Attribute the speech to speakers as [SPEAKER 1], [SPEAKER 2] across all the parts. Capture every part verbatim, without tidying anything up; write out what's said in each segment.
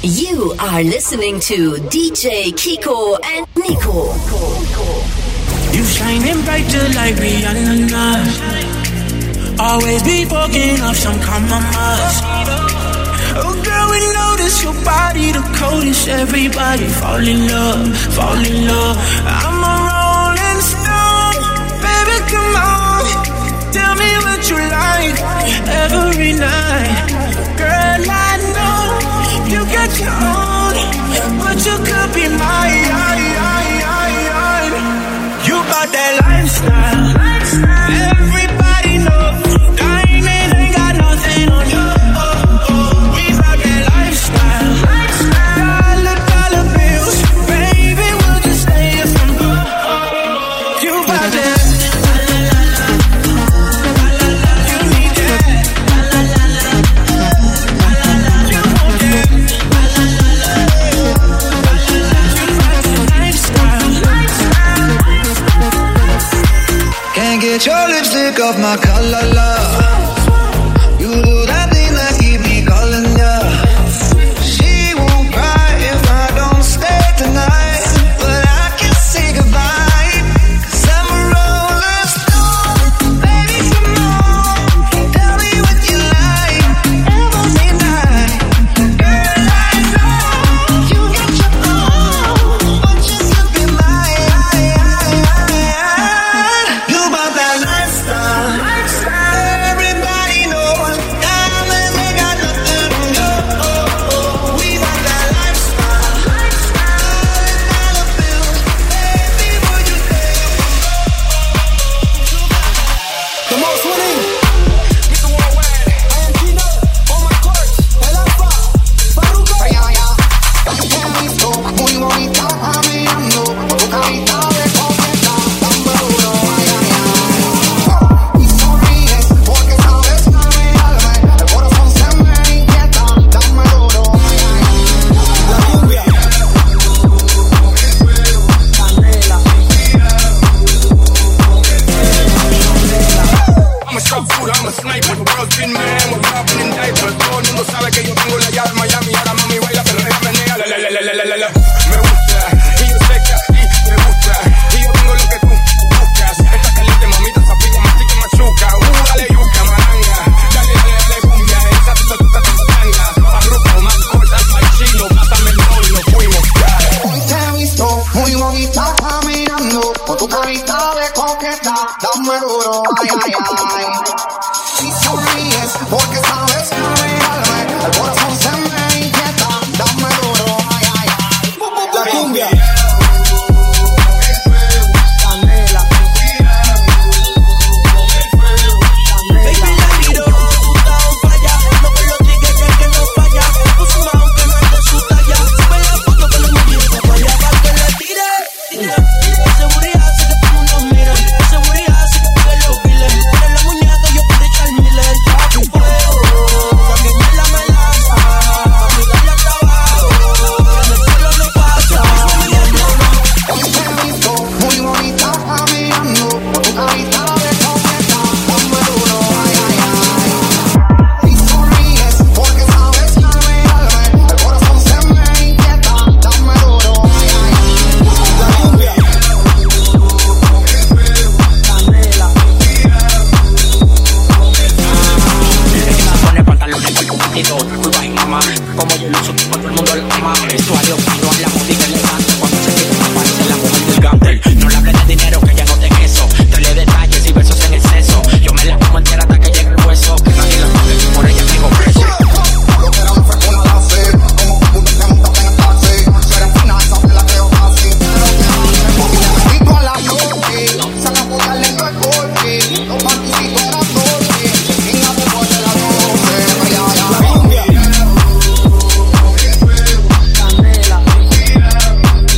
[SPEAKER 1] You are listening to D J Kiko and Nico.
[SPEAKER 2] You shining brighter like Rihanna. Always be fucking up some compromise. Oh girl, we notice your body the coldest. Everybody fall in love, fall in love. I'm a rolling stone, baby, come on. Tell me what you like every night. Girl, I know you got your own, but you could be mine. You got that lifestyle, everybody knows. Diamond ain't got nothing on you. We got that lifestyle, dollar, dollar bills. Baby, we'll just stay here from good. You got that. You need that. You want that. You got that lifestyle.
[SPEAKER 3] Can't get your lipstick off my collar, love. You do that thing that keep me calling ya. She won't cry if I don't stay tonight, but I can say goodbye, 'cause I'm a rolling stone. Baby, come on, tell me what you like every night. Girl, I know you got your own, but you could be mine. You bought that lifestyle. Everybody knows diamonds ain't got nothing on you. We bought that lifestyle. Dollar bills, baby, would you stay?
[SPEAKER 4] The most winning, Mister Worldwide, I am Gino, on my court, El Alfa, Faruco. Muy bonita caminando, tu carita de coqueta, dame duro, ay, ay, ay. Y sonríes porque sabes que me alma, el corazón se me inquieta, dame duro, ay, ay, ay. La cumbia, Canela. I'm a shot food, I'm a sniper. World's been man, we're popping in diapers. Todo el mundo sabe que yo tengo la llave Miami. Ahora mami baila, pero ella menea. La, la, la, la, la, la, la. Me gusta, y yo sé que a ti te gusta. Y yo tengo lo que tú buscas. Esta caliente, mamita, zapilla, mastica, machuca. Uh, dale yuca, maranga. Dale, dale, dale, cumbia. Esa tuta, tuta, tuta, tanga. Arrojo, más cortas, más chino. Pásame el rol, nos fuimos.
[SPEAKER 5] Hoy te he visto muy bonita caminando, con tu carita de coqueta, dame duro, ay, ay, ay. Si sonríes porque sabes que me alma, el corazón se me inquieta, dame duro, ay, ay, ay.
[SPEAKER 4] La cumbia,
[SPEAKER 5] Canela.
[SPEAKER 2] Baby, la miro, puta, on falla. No me lo digas que que no falla. Puso más aunque no ande su talla. Sube la foto con los mujeres, se vaya para que la tire. Seguridad hace que todo el mundo mire. Seguridad hace que todos los viles. Eres la muñeca, yo puedo echar miles. Papi, fuego, también me la melaza. Mi galla trabajo, en el cielo no pasa.
[SPEAKER 5] Hoy te he visto muy bonita caminando, con tu carita de coqueta, dame duro, ay, ay, ay. Si sonríes porque sabes que me alma, el corazón se me inquieta, dame duro, ay, ay, ay.
[SPEAKER 4] la cumbia,
[SPEAKER 5] Canela.
[SPEAKER 6] Pone pantalones con tu partido, curvas y mamá. Como yo lo uso, todo el mundo lo ama. Vestuario fino, la música elegante. Cuando se quita una parte, la mujer gigante. No le hables de dinero, que ya no te queso. Trae detalles y besos en exceso. Yo me la como entera hasta que llegue el hueso. Que nadie la toque, por ella sigo preso.
[SPEAKER 5] Lo que era un fresco no la sé, como un te montas en el taxi. Será fina, esa te la creo casi. Pero que no le porque le metí a la noche. Saca por darle no es corte. Los banquisitos eran doce. Sin la boca de la doce. Ay, ay, ay.
[SPEAKER 4] la cumbia,
[SPEAKER 5] Canela.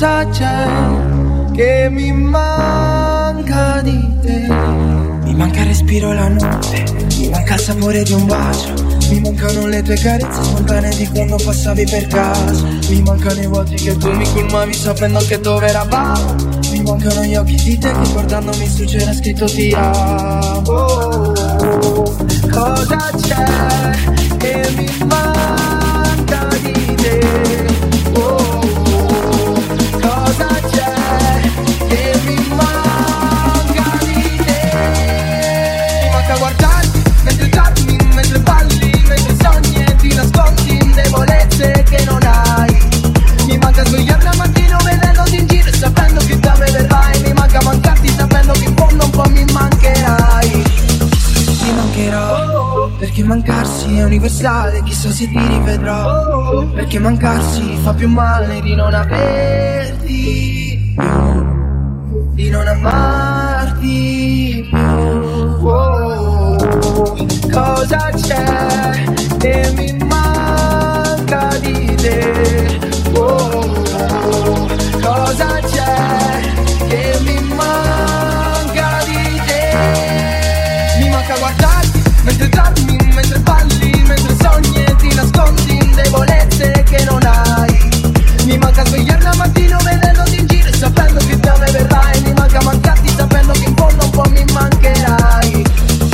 [SPEAKER 3] Cosa c'è che mi manca di te? Mi manca il respiro la notte, mi manca il sapore di un bacio, mi mancano le tue carezze spontanee di quando passavi per casa, mi mancano i vuoti che tu mi colmavi sapendo che dove eravamo, mi mancano gli occhi di te che guardandomi su c'era scritto ti amo. Oh, cosa c'è che mi manca di te? Oh, cosa c'è che mi manca di te? Mi manca guardarti mentre dormi, mentre balli, mentre sogni e ti nascondi in debolezze che non hai. Mi manca svegliarmi al mattino vedendoti in giro e sapendo che da me verrai. Mi manca mancarti sapendo che in fondo un po' mi mancherai. Ti mancherò, perché mancarsi è universale, chissà se ti rivedrò. Perché mancarsi fa più male di non averti più, di non amarti più. Oh, cosa c'è che mi manca di te? Oh, cosa c'è che mi manca di te? Mi manca guardarti mentre dormi, mentre balli, mentre sogni e ti nascondi in debolezze che non hai. Mi manca svegliarmi al mattino vedendoti in giro e sapendo che da me verrai. Mi manca mancarti sapendo che in fondo un po' mi mancherai.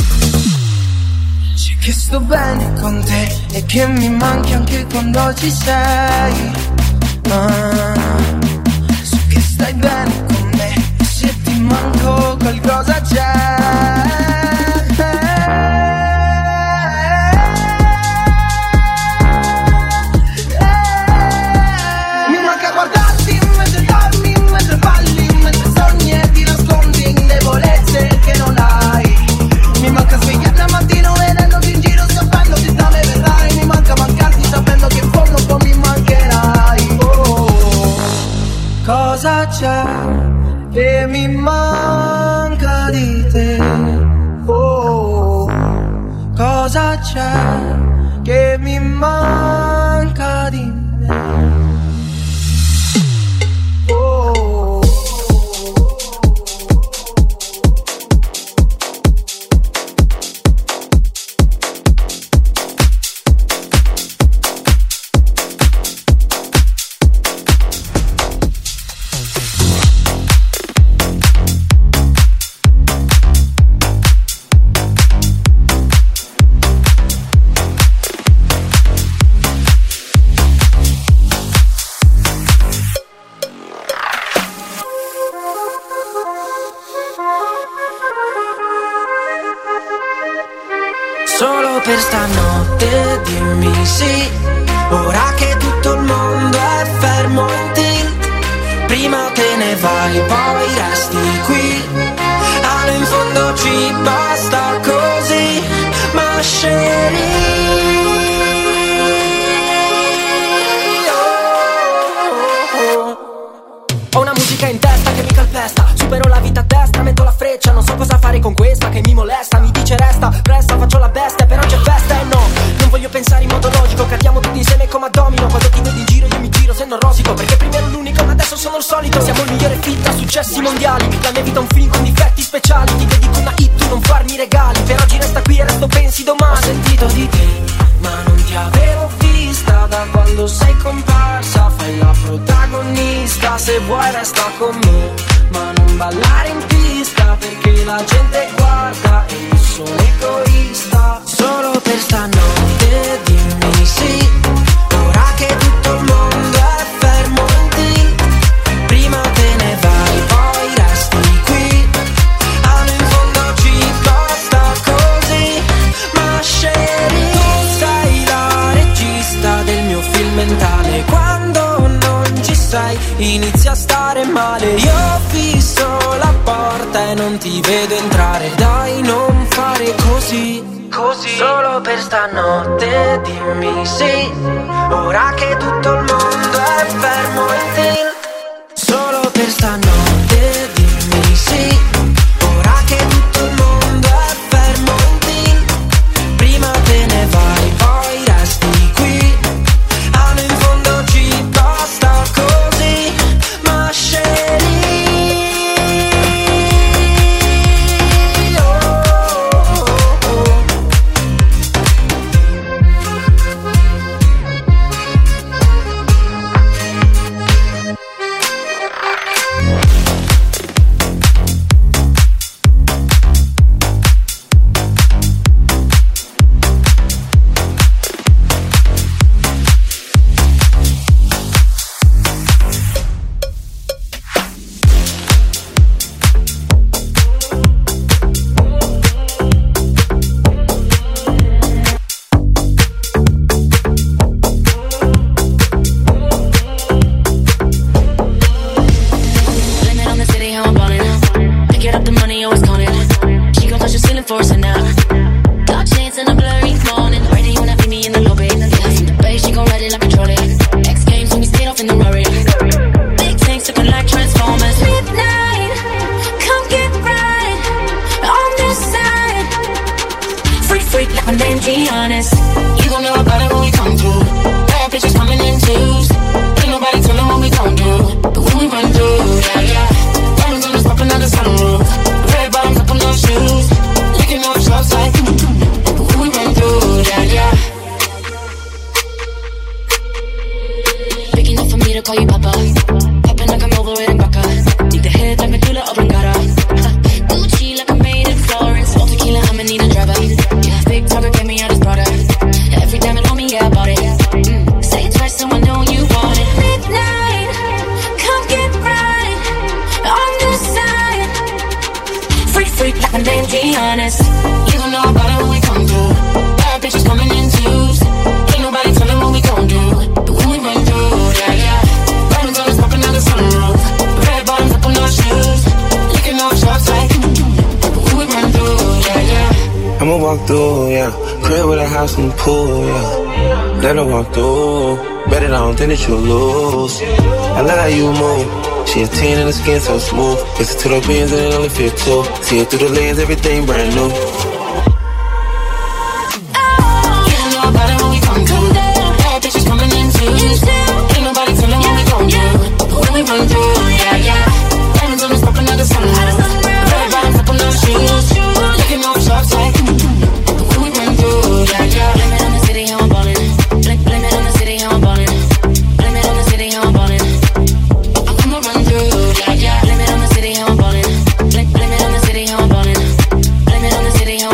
[SPEAKER 3] C'è che sto bene con te e che mi manchi anche quando ci sei. Ah, so che stai bene con me e se ti manco qualcosa c'è. Cosa c'è che mi manca di te? Oh, cosa c'è che mi manca di me? Oh.
[SPEAKER 7] Solo per stanotte dimmi sì, ora che tutto il mondo è fermo in tilt. Prima te ne vai, poi resti qui. Allo in fondo ci basta così, ma scegli.
[SPEAKER 8] Ho una musica in testa che mi calpesta, supero la vita a destra, metto la freccia, non so cosa fare con questa che mi molesta, mi dice resta, resta, faccio la bestia, però c'è festa e no, non voglio pensare in modo logico, cadiamo tutti insieme come a domino, quando ti vedi in giro io mi giro se non rosico, perché prima ero l'unico ma adesso sono il solito, siamo il migliore fit a successi mondiali, la mia vita è un film con difetti speciali, ti dedico una hit, tu non farmi regali, per oggi resta qui e resto pensi domani.
[SPEAKER 7] Ho sentito di te, ma non ti avevo vista da quando sei comparsa, fai la protagonista, se vuoi resta con me, ma non ballare in pista perché la gente guarda e io sono egoista. Solo per stanotte dimmi sì, ora che tutto il mondo è fermo in tilt. Prima te ne vai, poi resti qui. Allo in fondo ci basta così, ma scegli. Tu sei la regista del mio film mentale, quando non ci sei inizia a stare male. Io ho fisso la porta e non ti vedo entrare, dai non fare così, così. Solo per stanotte dimmi sì, ora che tutto il mondo è fermo in tilt. Solo per stanotte dimmi sì, ora che tutto il mondo è fermo in tilt. Prima te ne vai, poi resti qui. Allo in fondo ci basta così, ma
[SPEAKER 9] Popping like I'm over it in Baca. Need the head like Medulla Oblongata. Gucci like I'm made in Florence. All tequila, I'ma need a driver. Yeah, big talker, get me out his brother. Every diamond on me, yeah, I bought it. Mm. Say it twice so I know you want it. Midnight, come get right on this side. Freak, freak like my name, be honest. You don't know about it when we come through. Bad bitches coming in twos. Ain't nobody telling what we gon' do. But when we run through, yeah, yeah. Diamonds on us popping out the sunroof. Red bottoms up on our shoes. Licking off shots like, but when we run through, yeah, yeah.
[SPEAKER 10] I'ma walk through, yeah. Crib with a house and pool, yeah. Let her walk through. Bet it I don't think that you'll lose. I love how you move. She a teen and the skin so smooth. Listen to the winds and it only fit two. See it through the lens, everything brand new.
[SPEAKER 9] Run through, yeah, yeah. Diamonds on us popping out the sun. Red bottoms up on our shoes. Looking off shots like, when we run through, yeah, yeah. Blame it on the city, how I'm ballin'. Blame, blame it on the city, how I'm ballin'. Blame it on the city, how I'm ballin'. I'ma run through, yeah, yeah. Blame it on the city, how I'm ballin'. Blame, blame it on the city, how I'm ballin'. Blame it on the city, how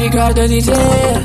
[SPEAKER 11] ricordo di te.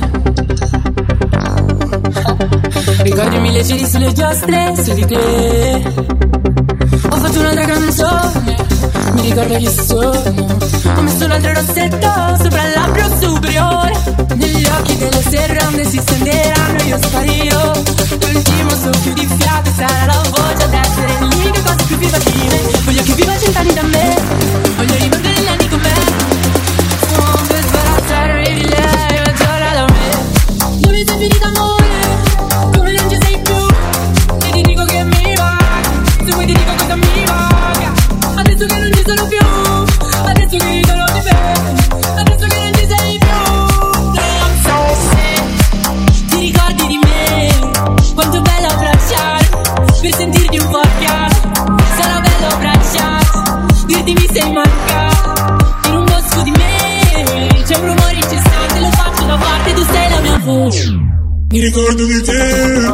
[SPEAKER 11] Ricordi mille cieli sulle giostre, su di te. Ho fatto un'altra canzone, mi ricordo che sogno. Ho messo un altro rossetto sopra il labbro superiore. Negli occhi delle serrande si stenderanno e io sparirò. L'ultimo soffio di fiato sarà la voce ad essere l'unica cosa più viva di me. Voglio che viva cent'anni da me, voglio rivivere gli anni con me. Sono per sbarazzare di lei, ma torna da me. Dove sei finita amore, come non ci sei più. E ti dico che mi va, se vuoi ti dico cosa mi va. Adesso che non ci sono più, adesso che ricordo di me, adesso che non ci sei più. Non so se ti ricordi di me, quanto è bello abbracciare, per sentirti un po' chiaro. Sarà bello abbracciare, dirti mi sei mancato. In un bosco di me c'è un rumore incessante, lo faccio da parte, tu sei la mia voce. Mi ricordo di te.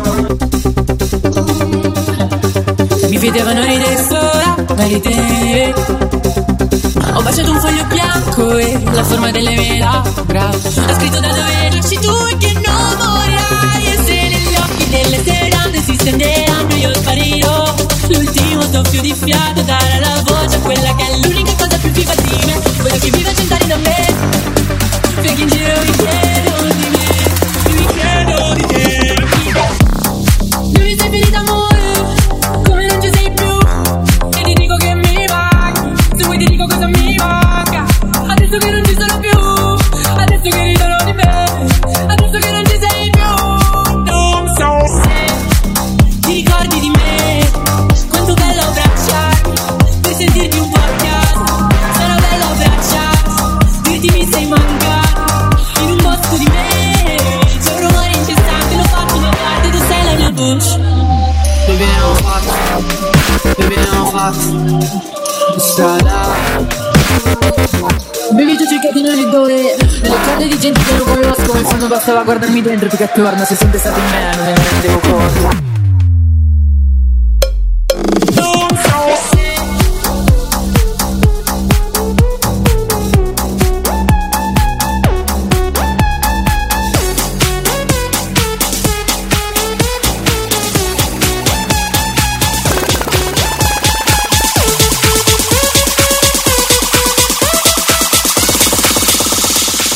[SPEAKER 11] Mi vedevano ridere sola, ma di te. Ho baciato un foglio bianco e la forma delle mie labbra. Ho scritto da dove nasci tu e che non morirai. E se negli occhi delle serrande si stenderanno io sparirò. L'ultimo soffio di fiato darà la voce a quella che è l'unica cosa più viva di me. Voglio che viva cent'anni da me, perché in giro mi chiedo di me, mi chiedo di te. Dove sei finita amore, come non ci sei più. E ti dico che mi manca, se vuoi ti dico cosa mi manca. Adesso che non ci sono più, adesso che ridono di me, adesso che non ci sei più. Non so se ti ricordi di me, quanto bello abbracciarmi, per sentirti un po' a casa. Sarà bello abbracciarti, dirti mi sei mancato. In un bosco di me c'è un rumore incessante, lo faccio da parte, tu sei la mia voce. Baby non fatto, baby non fatto, strada. Baby tu cercati nelle dore, nelle corde di gente che non conosco. In fondo bastava guardarmi dentro più che attorno. Se sempre stato in me non ne rendevo conto.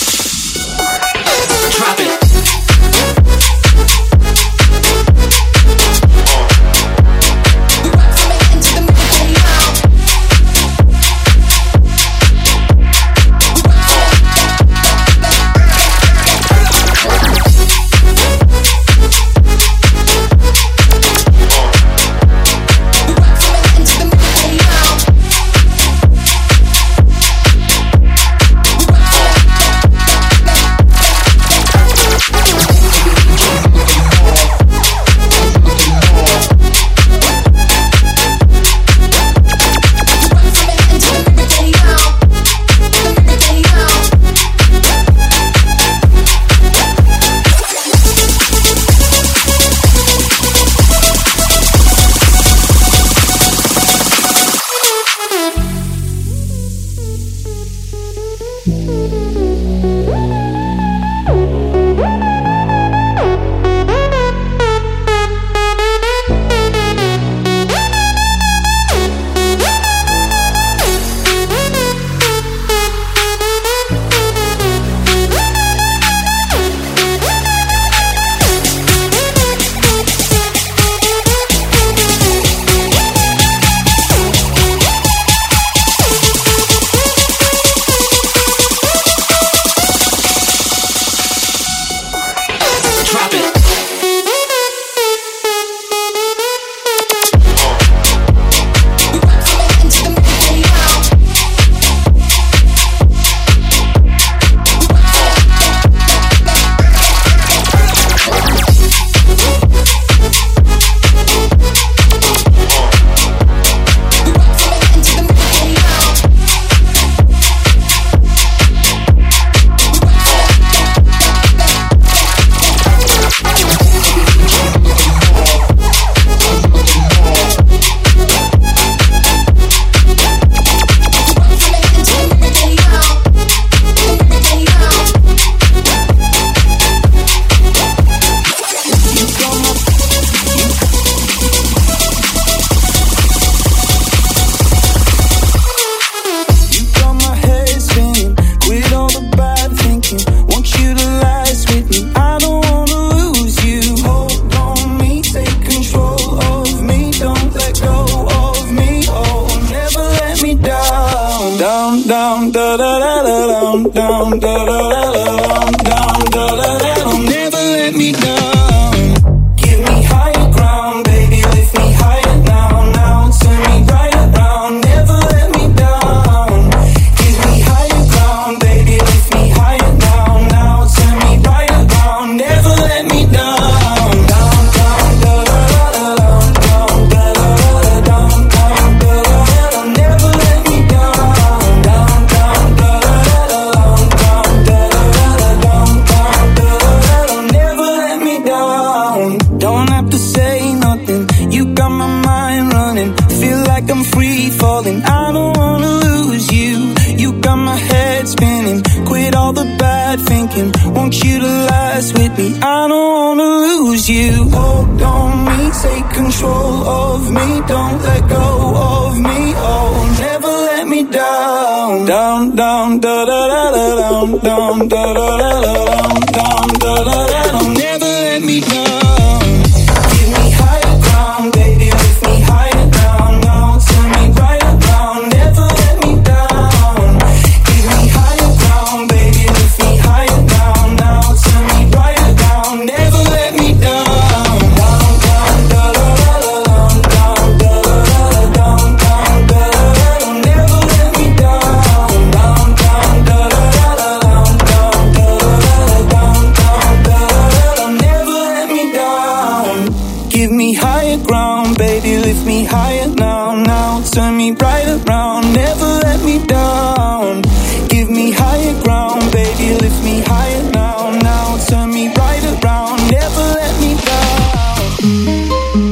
[SPEAKER 2] Drop it. down, down, down, down, down, down. Never let me down. Give me higher ground, baby, lift me higher now, now. Turn me right around, never let me down. Give me higher ground, baby, lift me higher now, now. Turn me right around, never let me down. I don't wanna lose you. You got my head spinning. Quit all the bad thinking. Want you to last with me. I don't wanna lose you. Hold on me, take control of me. Don't let go of me. Oh, never let me down. Down, down, da da da da down, down, da da da da down, down, da da da da. Never let me down. Give me higher ground, baby, lift me higher down, now. Turn me right around, never let me down. Give me higher ground, baby, lift me higher down, now. Turn me right around, never let me down. Down, down, da da da da down, down, da da da down, down, da da da. Never let me down. Down, down, da da da da down, down, da da da down, down, da da da. Never let me down. Give me higher ground, baby, lift me higher now, now. Turn me right around, never let me down. Give me higher ground, baby, lift me higher now, now. Turn me right around, never let me down.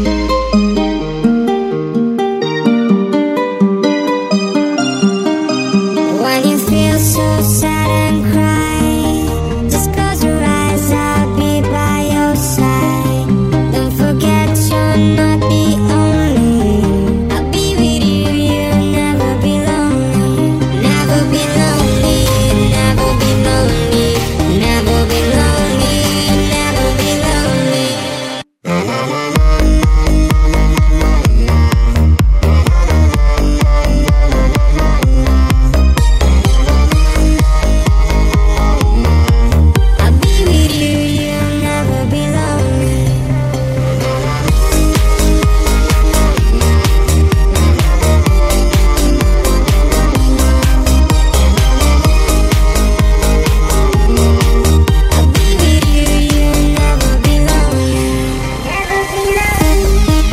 [SPEAKER 12] When you feel so sad and cry, just close your eyes, I'll be by your side. Don't forget you're not the only. I'll be with you, you'll never be lonely. Never be lonely, never be lonely. Never be lonely, never be lonely. I'll be with you, you'll never be lonely. I'll be with you, you'll never be lonely. Never be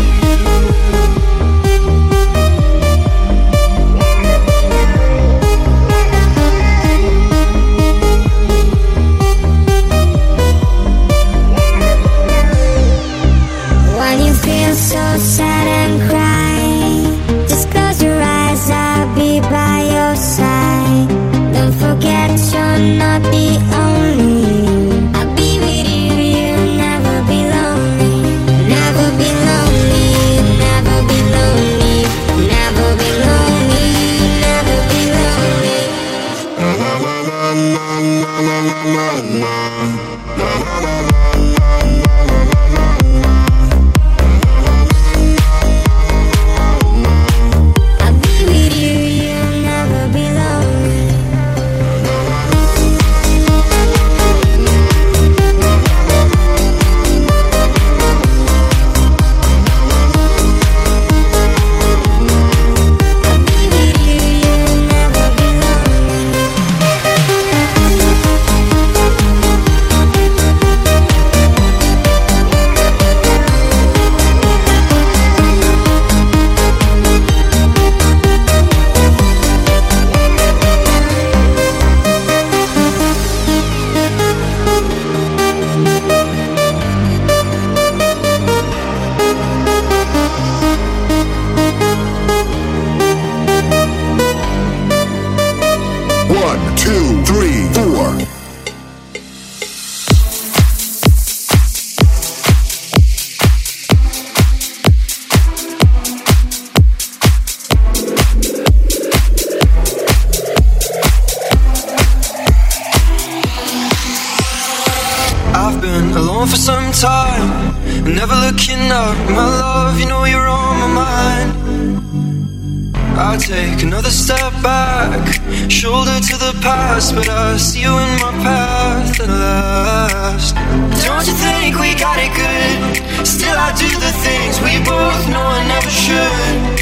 [SPEAKER 12] When you feel so sad and cry, just close your eyes, I'll be by your side. Don't forget you're not the only. I'll be with you, you'll never be lonely. Never be lonely, never be lonely. Never be lonely, never be lonely. I'll be with you, you'll never be lonely. I'll be with you, you'll never be lonely.
[SPEAKER 13] One, two, three, four.
[SPEAKER 14] I've been alone for some time, never looking up. My love, you know you're on my mind. I'll take another step back, shoulder to the past, but I see you in my path at last. Don't you think we got it good? Still I do the things we both know I never should.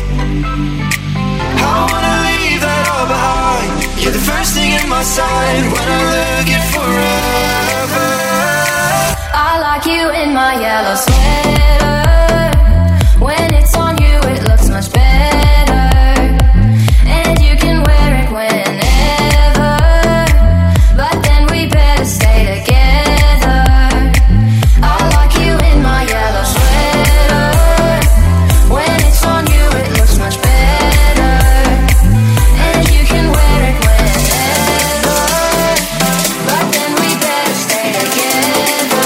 [SPEAKER 14] I wanna leave that all behind. You're the first thing in my sight when I look at forever.
[SPEAKER 9] I like you in my yellow sweater. When it's on you it looks much better. And you can wear it whenever. But then we better stay together. I like you in my yellow sweater. When it's on you it looks much better. And you can wear it whenever. But then we better stay together.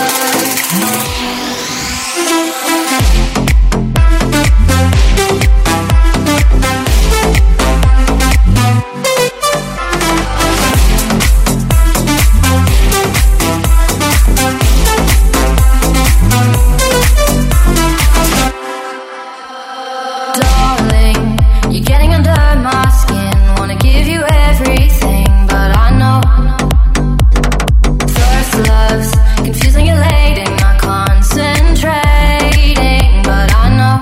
[SPEAKER 9] Darling, you're getting under my skin. Wanna give you everything, but I know first love's confusing and late and not concentrating, but I know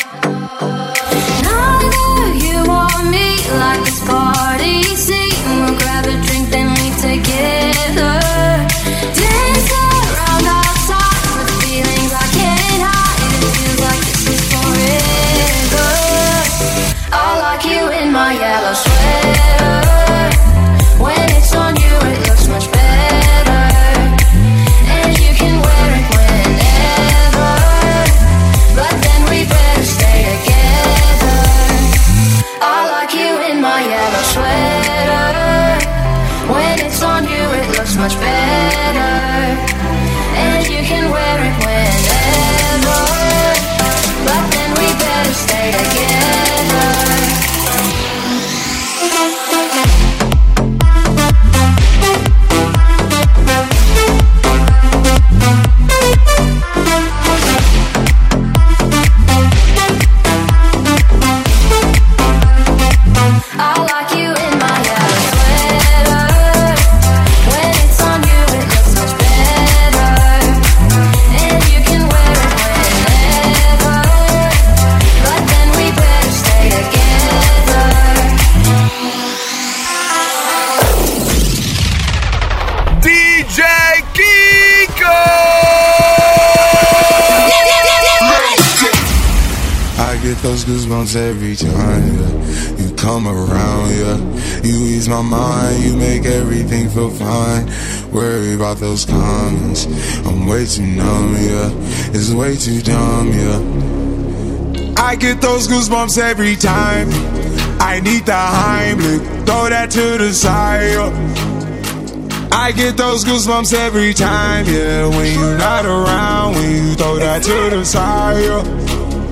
[SPEAKER 9] neither you or me like this party scene. We'll grab a drink then leave together. Dance around outside with feelings I can't hide. It feels like this is forever. I like you in my yellow sweater. When it's on you it looks much better. And you can wear it whenever. But then we better stay together. I like you in my yellow sweater. When it's on you it looks much better. And you can wear it whenever. But then we better stay together. I like you in my yellow sweater. When it's on you it looks much better. And you can wear it whenever. But then we better stay together.
[SPEAKER 4] D J Kiko!
[SPEAKER 15] I get those goosebumps every time, yeah. You come around, yeah. You ease my mind, you make everything feel fine. Worry about those comments, I'm way too numb, yeah. It's way too dumb, yeah. I get those goosebumps every time. I need the Heimlich, throw that to the side, yeah. I get those goosebumps every time, yeah. When you're not around, when you throw that to the side, yeah.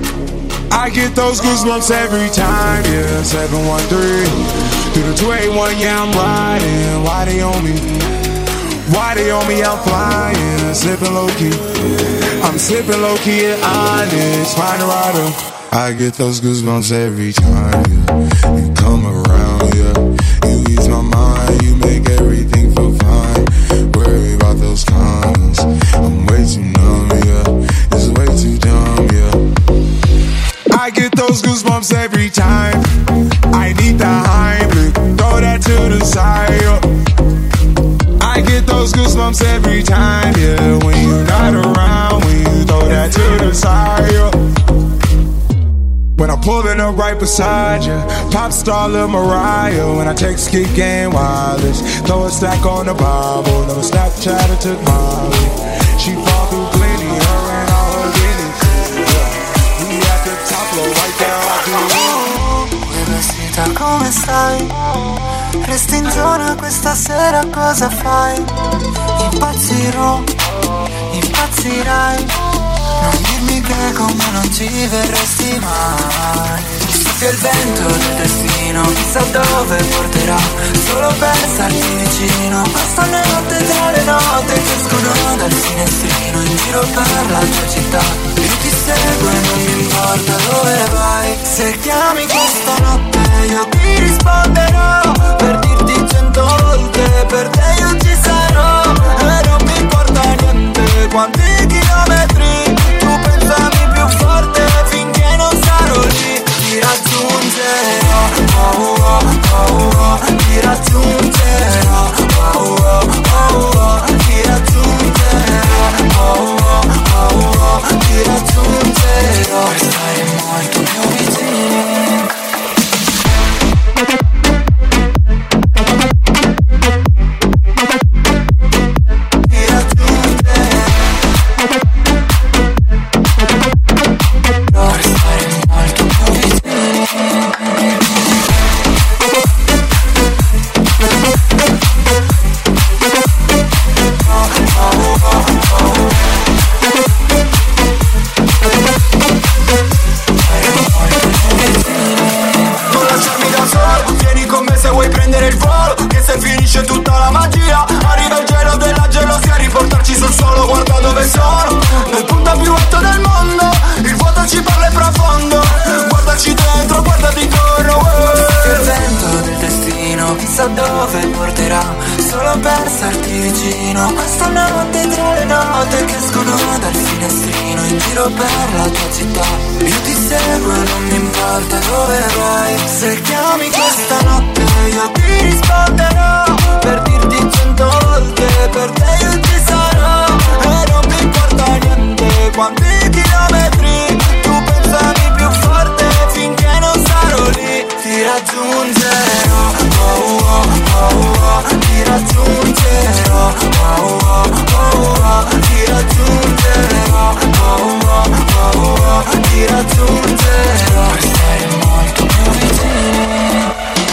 [SPEAKER 15] I get those goosebumps every time, yeah. seven one three through the two eight one, yeah, I'm riding. Why they on me? Why they on me? I'm flying, sipping low key. I'm sipping low key and honest, find a rider. I get those goosebumps every time, yeah. You come around, yeah. You ease my mind, you make everything feel fine. Worry about those comments, I'm way too numb, yeah. It's way too dumb, yeah. I get those goosebumps every time. I need the Heimlich, throw that to the side, yeah. I get those goosebumps every time, yeah. When you're not around, when you throw that to the side, yeah. When I'm pulling up right beside you, pop star Lil Mariah. When I text Geek and Wireless, throw a stack on the Bible. Never Snapchat or took Molly. She fall through plenty, her and all her guineas. Yeah. We at the top floor, right there, I do.
[SPEAKER 16] Vestita come stai? Resti in zona questa sera, cosa fai? Impazzirò, impazzirai. Non dirmi che con me non ci verresti mai. Soffia il vento del destino, chissà dove porterà. Solo per starti vicino, questa notte tra le note che escono dal finestrino. In giro per la tua città, io ti seguo e non mi importa importa dove vai. Se chiami questa notte io ti risponderò, per dirti cento volte per te io ci sarò. E non mi importa niente quanti chilometri, tu pensami più forte finché non sarò lì. Ti raggiungerò, oh oh oh oh, ti raggiungerò, oh oh oh oh, ti raggiungerò, oh oh oh oh, ti raggiungerò, per stare molto più vicini. Finisce tutta la magia, arriva il gelo della gelosia, riportarci sul suolo, guarda dove sono, nel punto più alto del mondo, il vuoto ci parla e profondo, guardaci dentro, guardati intorno, uh. Il vento del destino, chissà dove porterà, solo per starti vicino, questa notte tra le note che escono dal finestrino, in giro per la tua città, io ti seguo e non mi importa dove vai, se chiami questa notte io ti risponderò, per dirti cento volte per te io ci sarò. E non mi importa niente quanti chilometri, tu pensami più forte finché non sarò lì. Ti raggiungerò, oh oh oh oh, ti raggiungerò, oh oh oh oh, ti raggiungerò, oh oh oh oh, ti raggiungerò, per stare molto più vicini.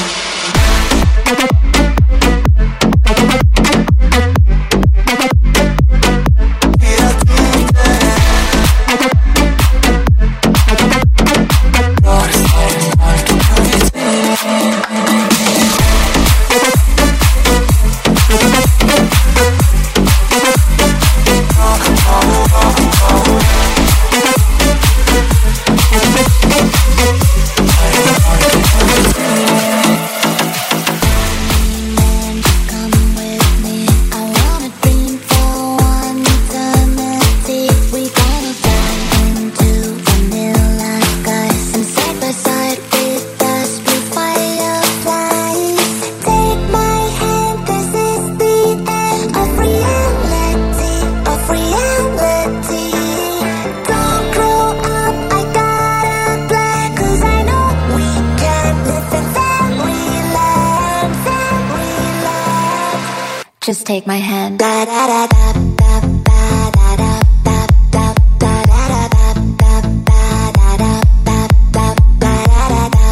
[SPEAKER 12] Just take my hand. Da da da da da da da da da da da da da da da da da da.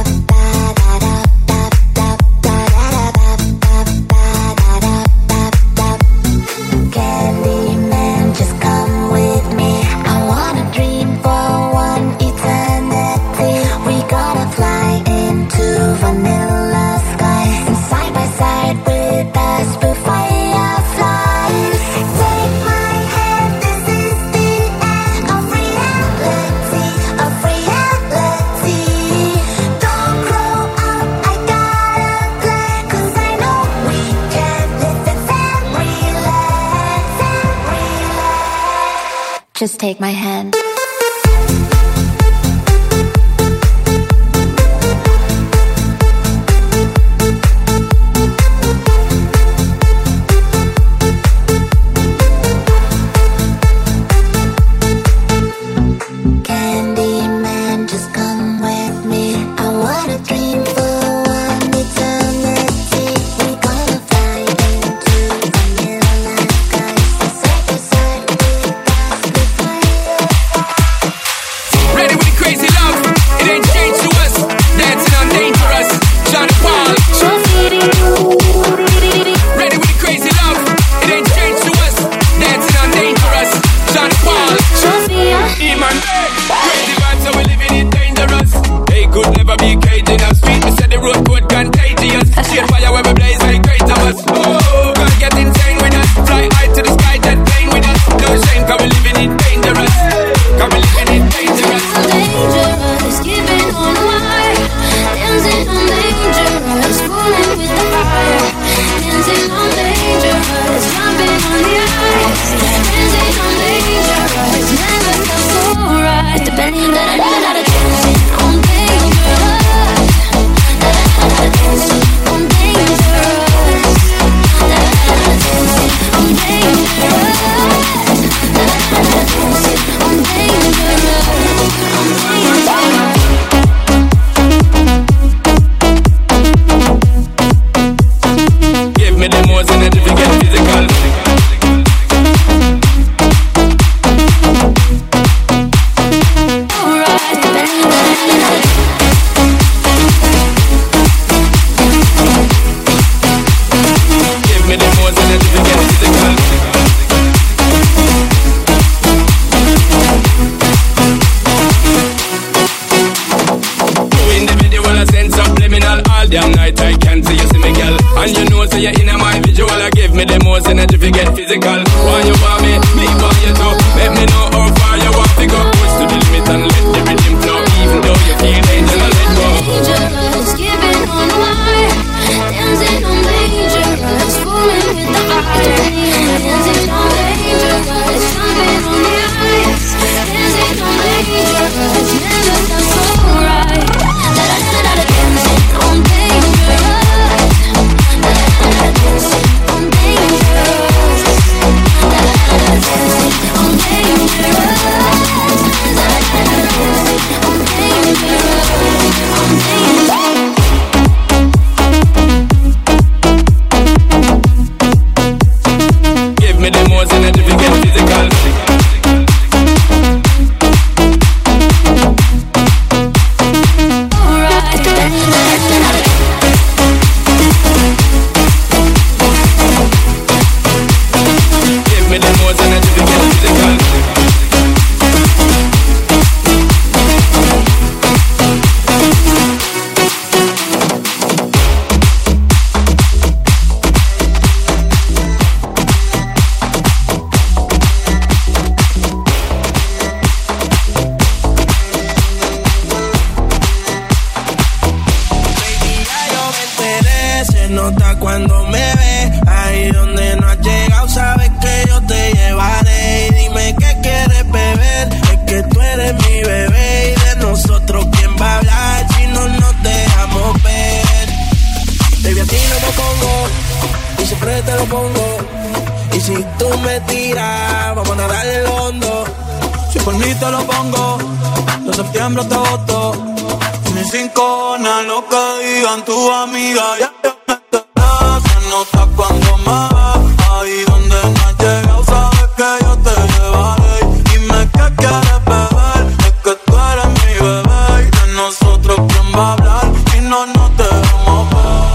[SPEAKER 12] Candyman, just come with me. I wanna dream for one eternity. We gonna fly into vanilla skies, side by side with us before fireflies. Take my hand, this is the end of reality, of reality. Don't grow up, I got a plan, 'cause I know we can live in fairyland, fairyland. Just take my hand. Candyman, just come with me. I wanna dream for one eternity. We gonna fly into vanilla skies, side by side with us before
[SPEAKER 4] Ready with the crazy love, it ain't changed to us. Dancing on dangerous, Sean Paul. Ready with the crazy love, it ain't changed to us. Dancing on dangerous, Sean Paul. E-man, crazy vibes, so we living it dangerous. They could never be caging us. Street, we said the road code contagious. Shade fire where we blaze like great of us. Oh, gotta get insane with us. Fly high to the sky, jet plane with us. No shame, cause we living it dangerous. Cause we living it dangerous. Give me the most energy to get physical. Damn night I can't see you see me girl. And you know say you're in my visual. I give me the most energy to get physical. When you want me, me want you too. Let me know how far you want to go. Push to the limit and let the rhythm flow. Even though you feel dangerous, let go.
[SPEAKER 12] Dangerous, giving on wire. Dancing on dangerous, fooling with the fire. Dancing on dangerous, jumping on the ice. Dancing on dangerous, never felt so right. Da da da da da, dancing on dangerous.
[SPEAKER 4] Give me the most energy to get physical.
[SPEAKER 17] Cuando me ve, ahí donde no has llegado, sabes que yo te llevaré. Y dime qué quieres beber, es que tú eres mi bebé. Y de nosotros, ¿quién va a hablar si no nos dejamos ver? Baby, a ti no me pongo, y siempre te lo pongo. Y si tú me tiras, vamos a nadar el hondo. Si por mí te lo pongo, de septiembre hasta agosto. Ni cinco, nada lo que digan tu amiga, ya. Nota cuando me ves, ahí donde no has llegado, sabes que yo te llevaré. Dime qué quieres beber, es que tú eres mi bebé. Y de nosotros, ¿quién va a hablar si no nos dejamos ver?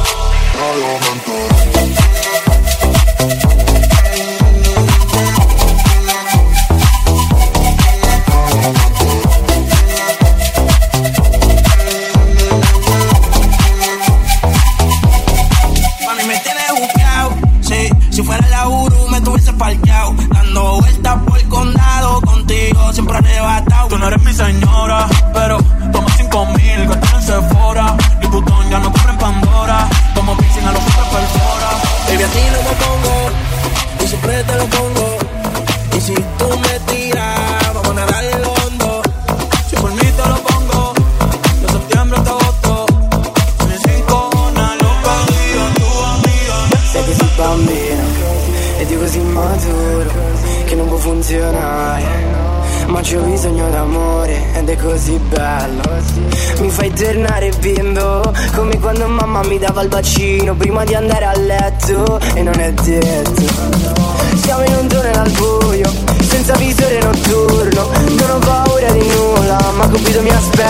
[SPEAKER 17] Si fuera la Uru me tuviese parqueado, dando vueltas por el condado, contigo siempre arrebatado. Tú no eres mi señora, pero toma cinco mil, gastar en Sephora. Y Butón ya no compra en Pandora, como piercing a los hombres perfora. Baby, a ti no me pongo, y siempre te lo pongo. Y si tú me tiras, vamos a nadar el hondo. Si por mí te lo pongo, de septiembre hasta agosto. Ni cinco, una loca, diga tu amiga.
[SPEAKER 8] Sei così bambino ed io così maturo che non può funzionare, ma c'ho bisogno d'amore ed è così bello. Mi fai tornare bimbo come quando mamma mi dava il bacino prima di andare a letto. E non è detto, siamo in un tunnel al buio senza visore notturno. Non ho paura di nulla, ma Cupido mi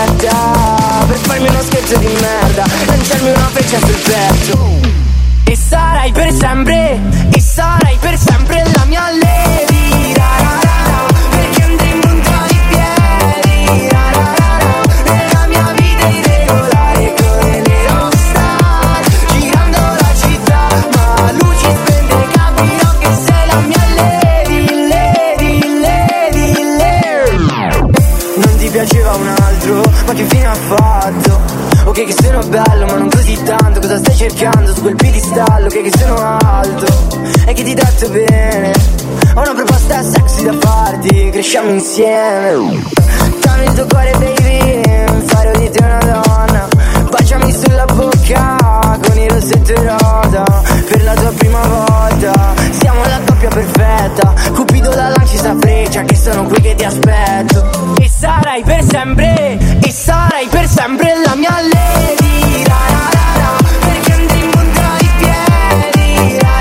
[SPEAKER 8] aspetta per farmi uno scherzo di merda, lanciarmi una freccia sul petto. E sarai per sempre, e sarai per sempre la mia lady, ra ra ra ra, perché andrei in punta di piedi, ra ra ra ra, nella mia vita irregolare come le rockstar, girando la città, ma luci spente capirò che sei la mia lady, lady, lady, lady. Non ti piaceva un altro, ma che fine ha fatto? Ok che sono bello ma non così tanto, cosa stai cercando su quel piedistallo? Ok che sono alto e che ti tratto bene, ho una proposta sexy da farti, cresciamo insieme. Dammi il tuo cuore baby, farò di te una donna, baciami sulla bocca con il rossetto rosa, per la tua prima volta, siamo la coppia perfetta, Cupido la lanci sta freccia che sono qui che ti aspetto. E sarai per sempre, e sarai per sempre la mia lady, ra ra ra ra, perché andrei in punta di piedi, ra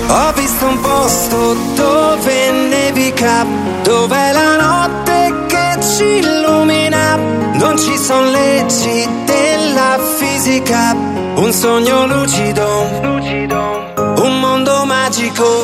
[SPEAKER 3] Ho visto un posto dove nevica, dove la notte che ci illumina. Non ci son leggi della fisica, un sogno lucido, un mondo magico.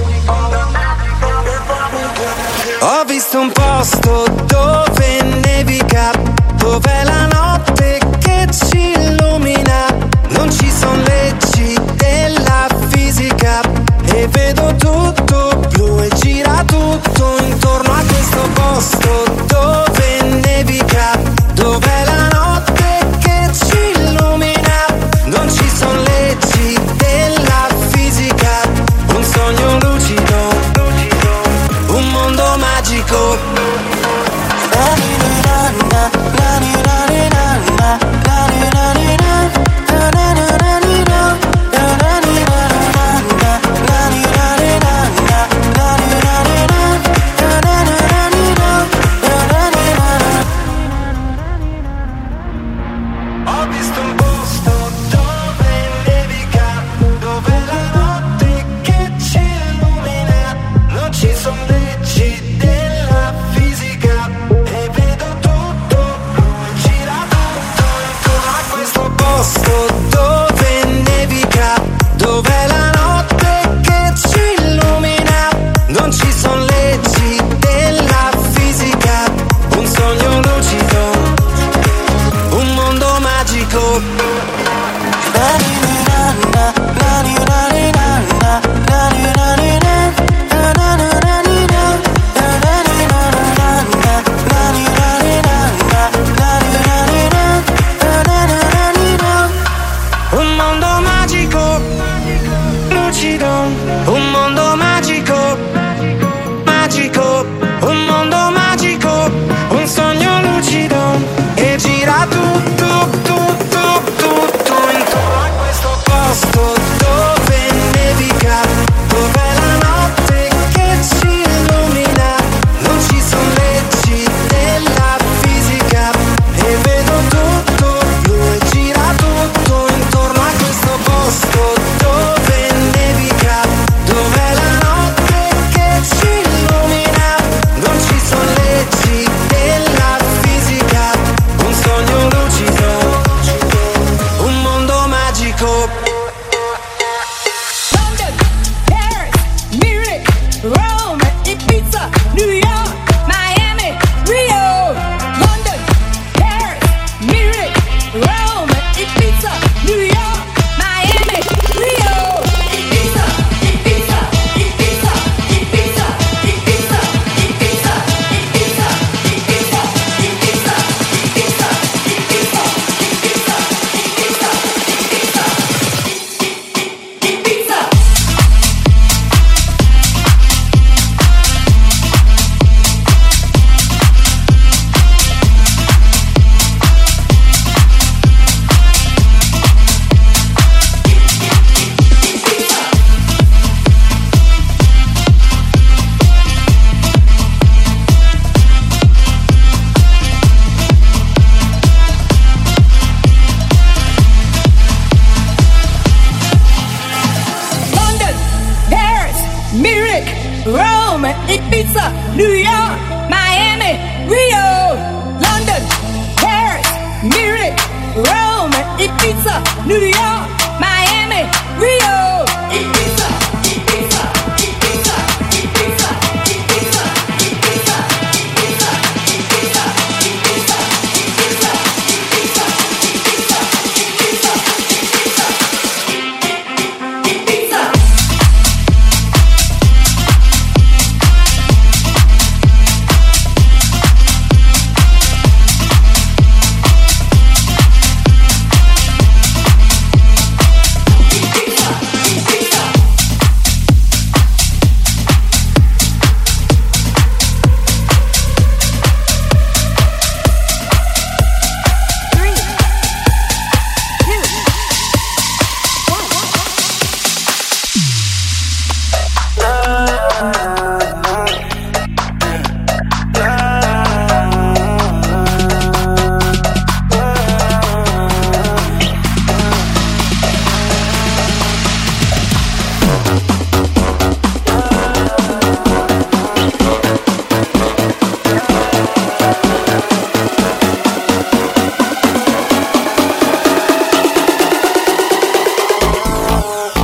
[SPEAKER 3] Ho visto un posto dove nevica, dove la notte che ci illumina. Non ci son leggi della fisica e vedo tutto blu e gira tutto intorno a questo posto dove nevica, dove la notte che ci illumina. Non ci son leggi della fisica, un sogno lucido, un mondo magico.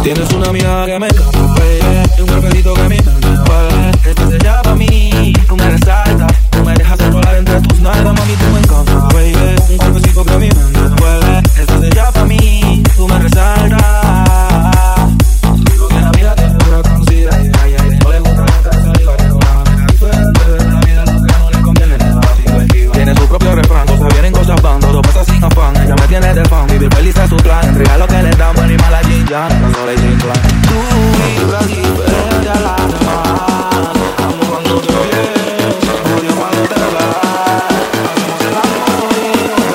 [SPEAKER 10] Tienes una mirada que me encanta, baby, y un cuerpecito que a mí me envuelve. Estás hecha pa' mí, tú me resaltas, tú me dejas enrolar entre tus nalgas, mami, tú me encanta, baby, un cuerpecito que a mí me envuelve. Estás hecha pa' mí, tú me resaltas. Digo que la vida te dura conocida y ay, ay, no le gusta nunca saliva, pero la manera diferente de la vida lo que no le conviene nada, tiene su propio refrán, cosas vienen, cosas van, todo pasa sin afán. Ella me tiene de fan, vivir feliz es su plan. Entregar lo que le dan, bueno y mala ya, no soy sin plan. Tú vibras diferente a las demás. Amo cuando te vienes, odio cuando te vas. Hacemos el amor y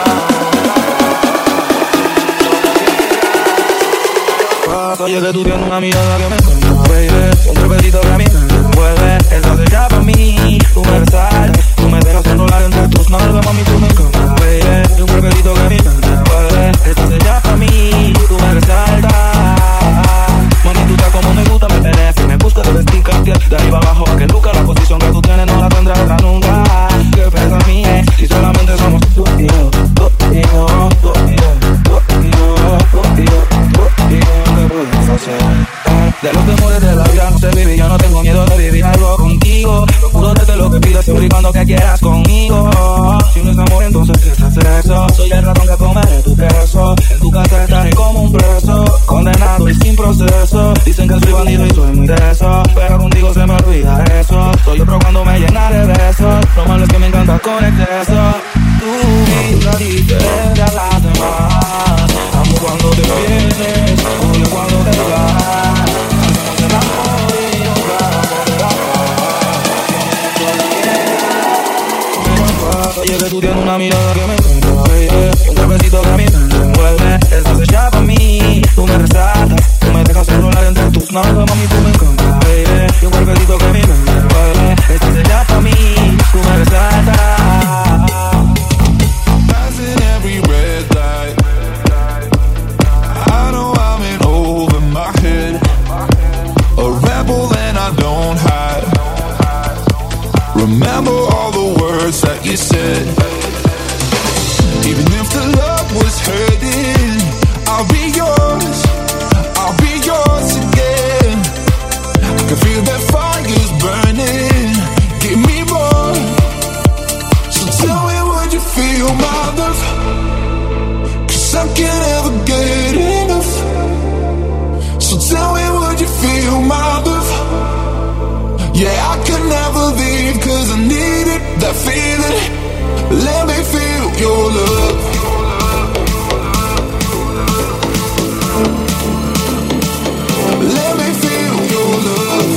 [SPEAKER 10] nos oye que tú tienes una mirada que me encanta, baby, un cuerpecito que a mí me envuelve. Estás hecha pa' mí, tú me resaltas, tú me dejas enrolar entre tus nalgas, mami, tú me encanta, baby, y un cuerpecito que a mí me envuelve. Estás hecha pa' mí, tú me resaltas. Mami, tú estás como me gusta, me tenés y me gusta de vestir Cartier. De arriba abajo, que nunca la posición que tú tienes no la tendrá otra nunca. ¿Qué pesa mi ex? Si solamente somos tú y yo, tú y yo, tú y yo, tú y yo, tú y yo, tú y yo, ¿qué podemos hacer? De los temores de la vida no sé vivir, yo no tengo miedo de vivir algo contigo. Procuro darte lo que pidas siempre y cuando que quieras conmigo. Si no es amor, entonces ¿qué es sexo? Soy el ratón que comeré tu queso. En tu casa estaré como un preso, condenado y sin proceso. Dicen que soy bandido y soy muy de eso, pero contigo se me olvida eso. Soy otro cuando me llena de besos. Lo malo es que me encanta con exceso. Tú vibras diferente a las demás. Amo cuando te vienes, odio cuando te vas. Hacemos el amor y nos vamos de la paz. Oye que tú tienes una mirada que me encanta, baby, un cuerpecito que a mí me envuelve. Estás hecha pa' mí, tú me resaltas, tú me dejas enrolar entre tus nalgas, mami, tú me encanta, baby, y un cuerpecito que a mí me envuelve. Estás hecha pa' mí, tú me resaltas.
[SPEAKER 15] Passing every red light, I know I'm in over my head, a rebel and I don't hide. Remember all the words that you said. Even if the love was hurting, I'll be yours, I'll be yours again. I can feel that fire's burning, give me more. So tell me, would you feel my love? Cause I can't ever get enough. So tell me, would you feel my love? Yeah, I could never leave cause I need it, that feeling. Let me feel your love. Let me feel your love.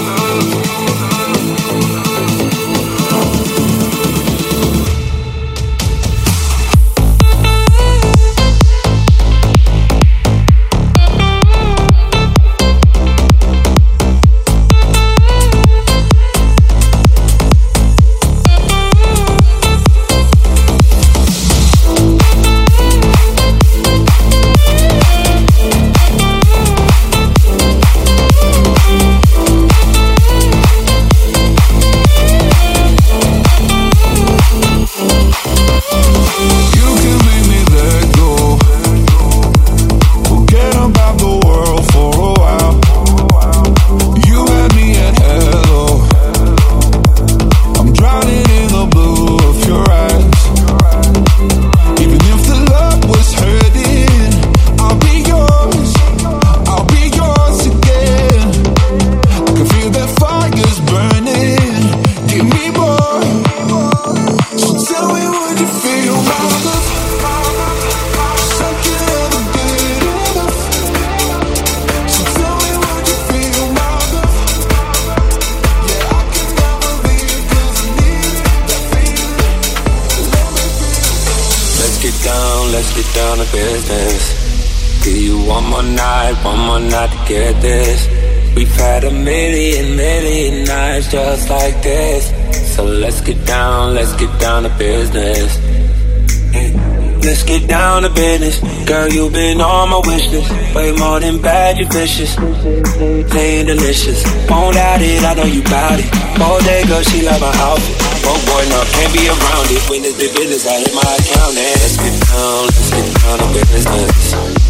[SPEAKER 10] Just like this, so let's get down, let's get down to business. Let's get down to business. Girl, you've been on my wish list. Way more than bad, you vicious. Playing delicious. Won't doubt it, I know you bout it. All day, girl, she love my outfit. Oh boy, no, can't be around it. When it's big business, I hit my account and let's get down, let's get down to business.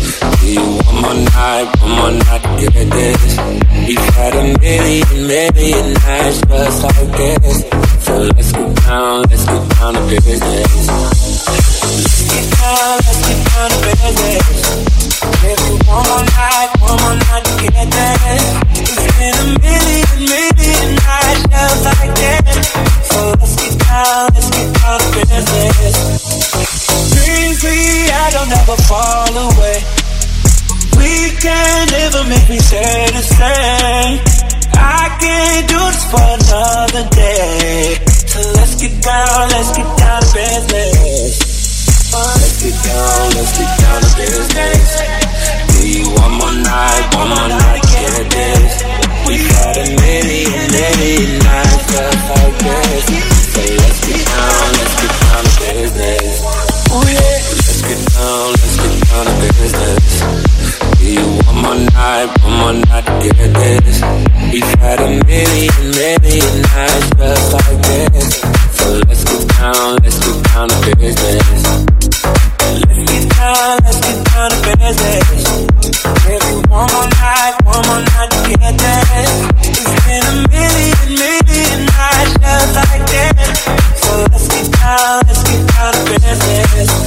[SPEAKER 10] Do you one more night, one more night to get this? We've had a million, million nights just like this. So let's get down, let's get down to business. Let's get down, let's get down to business. Give me one more night, one more night to get this. It's been a million, million nights just like this. So let's get down, let's get down to business. Dream free, I don't ever fall away. We can never make me say the same. I can't do this for another day. So let's get down, let's get down to business. Let's get down, let's get down to business. Do you one more night, one more night, get this? We've had a million, million nights just like this. So let's get down, let's get down to business. Oh yeah. Let's get down, let's get down to business. Do you one more night, one more night to get this? We've had a million, million nights just like this. So let's get down, let's get down to business. Let's get down, let's get down to business. Give you one more night, one more night to get this. It's been a million, million nights just like this. So let's get down, let's get down to business.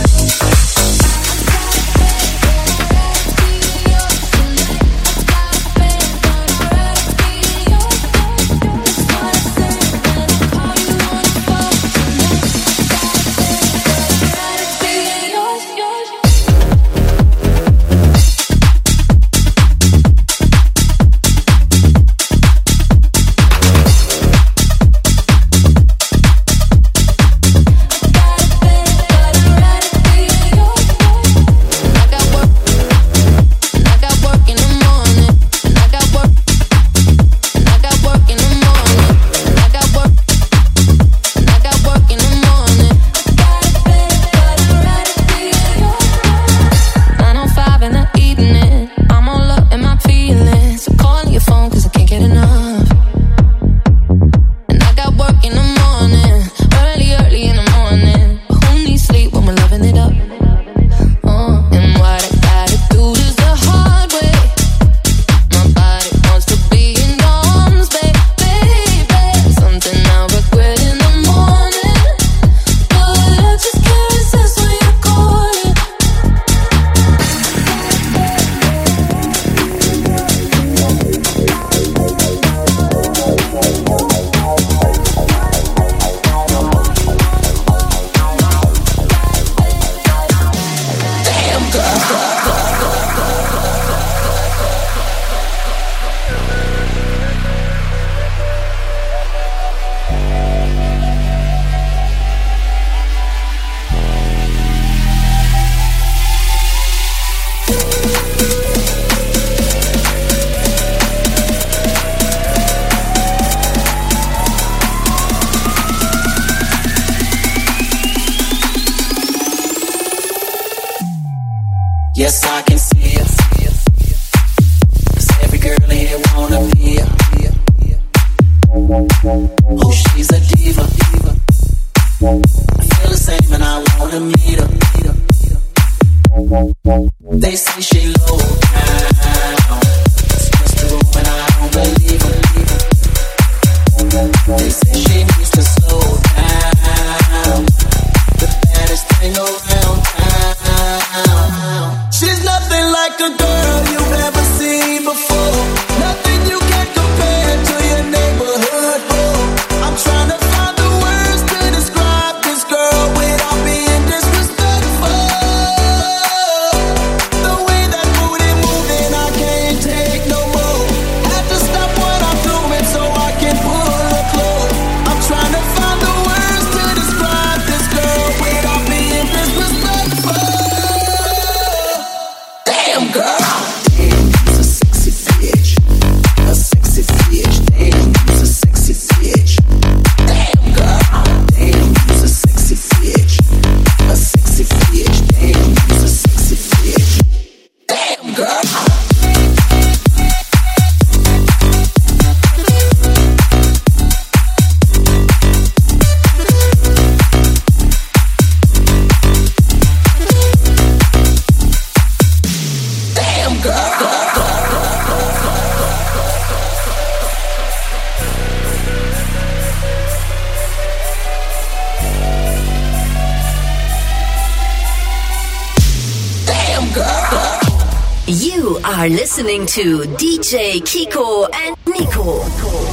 [SPEAKER 1] You are listening to D J Kiko and Nico.